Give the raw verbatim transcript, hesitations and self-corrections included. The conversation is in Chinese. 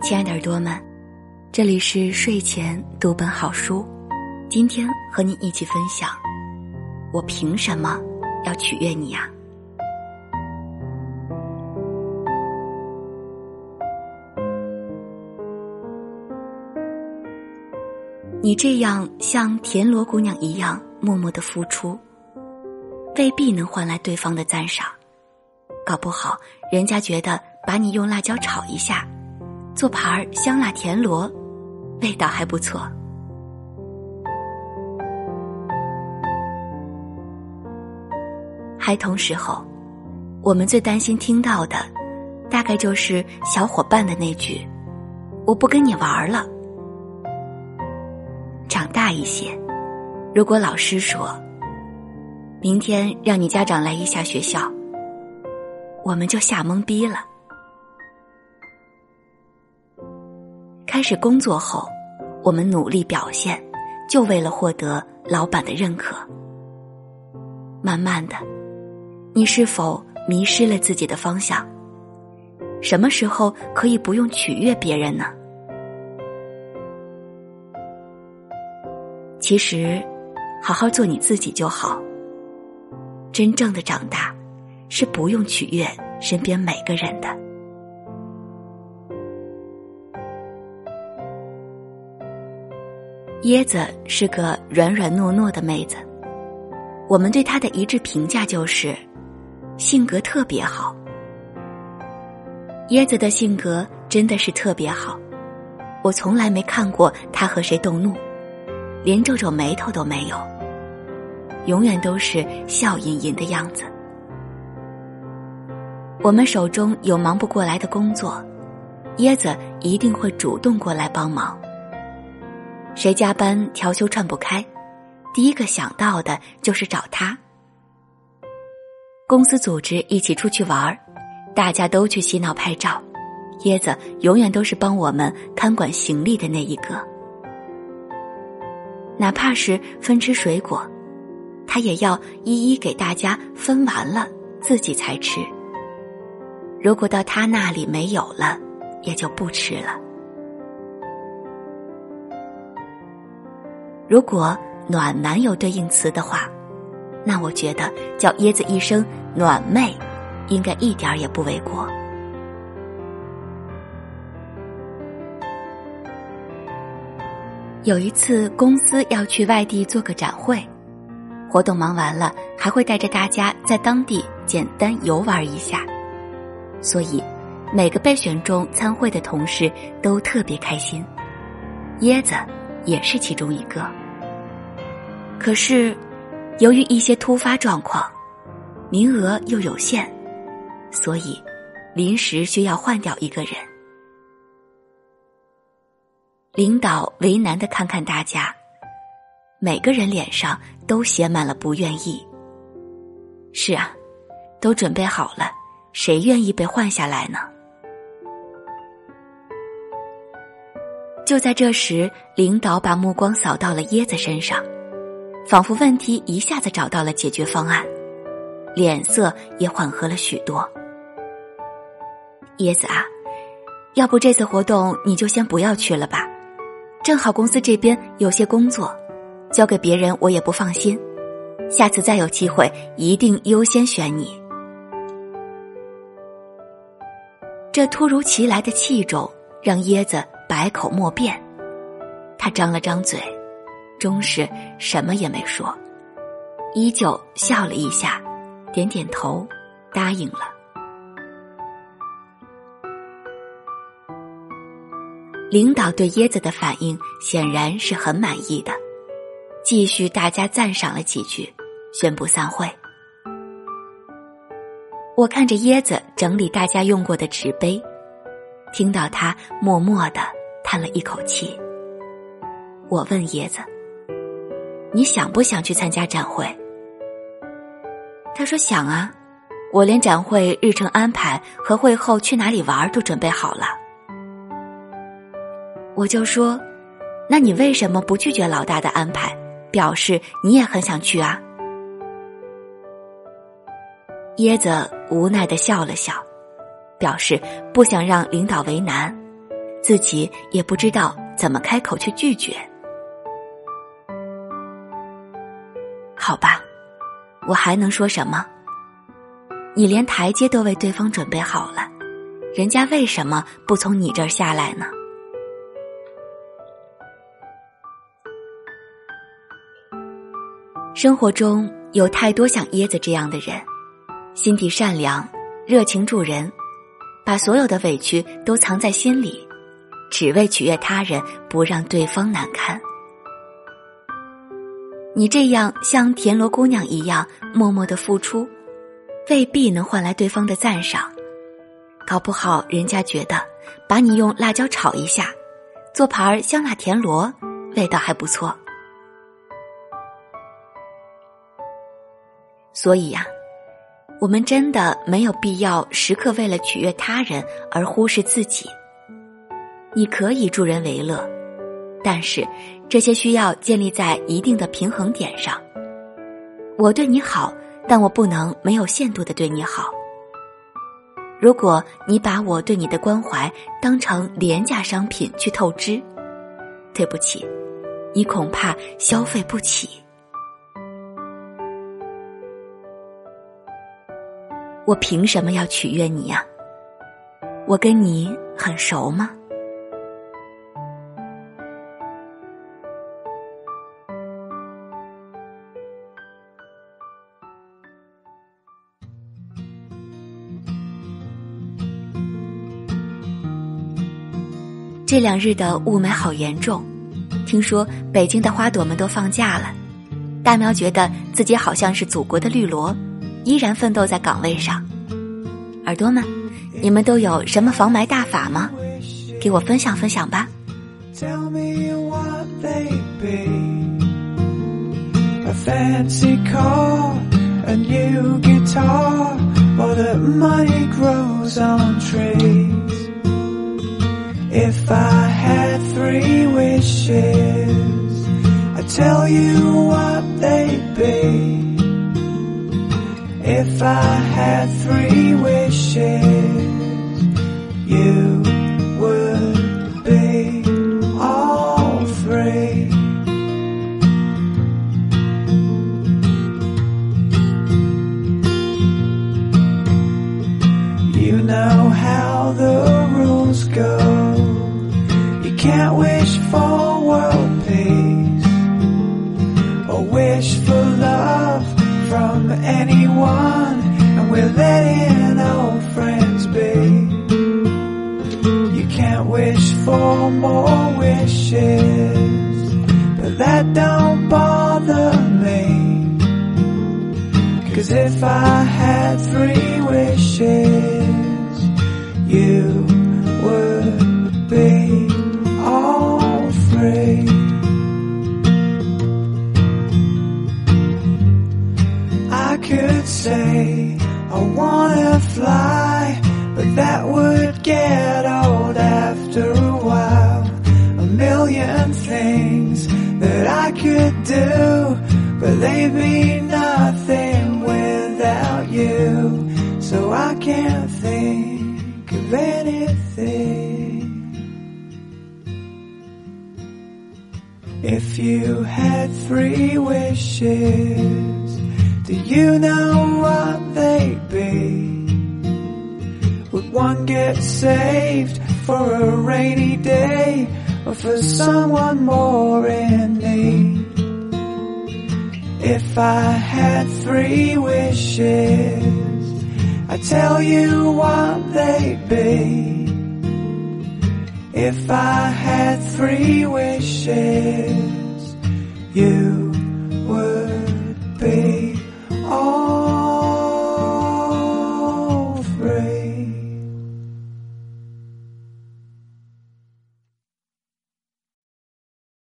亲爱的耳朵们，这里是睡前读本好书，今天和你一起分享，我凭什么要取悦你呀？你这样像田螺姑娘一样默默的付出，未必能换来对方的赞赏，搞不好人家觉得把你用辣椒炒一下，做盘香辣田螺，味道还不错。孩童时候，我们最担心听到的大概就是小伙伴的那句我不跟你玩了。长大一些，如果老师说明天让你家长来一下学校，我们就吓懵逼了。开始工作后，我们努力表现，就为了获得老板的认可。慢慢的，你是否迷失了自己的方向？什么时候可以不用取悦别人呢？其实，好好做你自己就好。真正的长大，是不用取悦身边每个人的。椰子是个软软糯糯的妹子，我们对她的一致评价就是性格特别好。椰子的性格真的是特别好，我从来没看过她和谁动怒，连皱皱眉头都没有，永远都是笑吟吟的样子。我们手中有忙不过来的工作，椰子一定会主动过来帮忙。谁加班调休串不开，第一个想到的就是找他。公司组织一起出去玩，大家都去洗脑拍照，椰子永远都是帮我们看管行李的那一个。哪怕是分吃水果，他也要一一给大家分完了自己才吃，如果到他那里没有了，也就不吃了。如果暖男有对应词的话，那我觉得叫椰子一声暖妹应该一点也不为过。有一次公司要去外地做个展会，活动忙完了还会带着大家在当地简单游玩一下，所以每个被选中参会的同事都特别开心，椰子也是其中一个。可是由于一些突发状况，名额又有限，所以临时需要换掉一个人。领导为难地看看大家，每个人脸上都写满了不愿意。是啊，都准备好了，谁愿意被换下来呢？就在这时，领导把目光扫到了椰子身上，仿佛问题一下子找到了解决方案，脸色也缓和了许多。椰子啊，要不这次活动你就先不要去了吧，正好公司这边有些工作，交给别人我也不放心，下次再有机会一定优先选你。这突如其来的器重让椰子百口莫辩，他张了张嘴，终是什么也没说，依旧笑了一下，点点头，答应了。领导对椰子的反应显然是很满意的，继续大家赞赏了几句，宣布散会。我看着椰子整理大家用过的纸杯，听到他默默地叹了一口气。我问椰子，你想不想去参加展会？他说想啊，我连展会日程安排和会后去哪里玩都准备好了。我就说，那你为什么不拒绝老大的安排，表示你也很想去啊？椰子无奈地笑了笑，表示不想让领导为难， 自己也不知道怎么开口去拒绝。好吧，我还能说什么？你连台阶都为对方准备好了，人家为什么不从你这儿下来呢？生活中有太多像椰子这样的人，心地善良，热情助人，把所有的委屈都藏在心里，只为取悦他人，不让对方难堪。你这样像田螺姑娘一样默默的付出，未必能换来对方的赞赏，搞不好人家觉得把你用辣椒炒一下，做盘香辣田螺，味道还不错。所以呀、啊，我们真的没有必要时刻为了取悦他人而忽视自己。你可以助人为乐，但是这些需要建立在一定的平衡点上。我对你好，但我不能没有限度地对你好。如果你把我对你的关怀当成廉价商品去透支，对不起，你恐怕消费不起。我凭什么要取悦你呀？我跟你很熟吗？这两日的雾霾好严重，听说北京的花朵们都放假了。大喵觉得自己好像是祖国的绿萝，依然奋斗在岗位上。耳朵们，你们都有什么防霾大法吗？给我分享分享吧。 Tell me what they be. A fancy car, a new guitar, or that money grows on trees. If I had three wishes, I'd tell you what they'd be. If I had three wishes, you would be all three. You know how the rules go. You can't wish for world peace or wish for love from anyone, and we're letting old friends be. You can't wish for more wishes, but that don't bother me, 'cause if I had three wishes, you would be all three. I could say I wanna fly, but that would get old after a while. A million things that I could do, but they'd be nothing without you. So I can't think of anything. If you had three wishes, do you know what they'd be? Would one get saved for a rainy day, or for someone more in need? If I had three wishes, I'd tell you what they'd be. If I had three wishes, you would be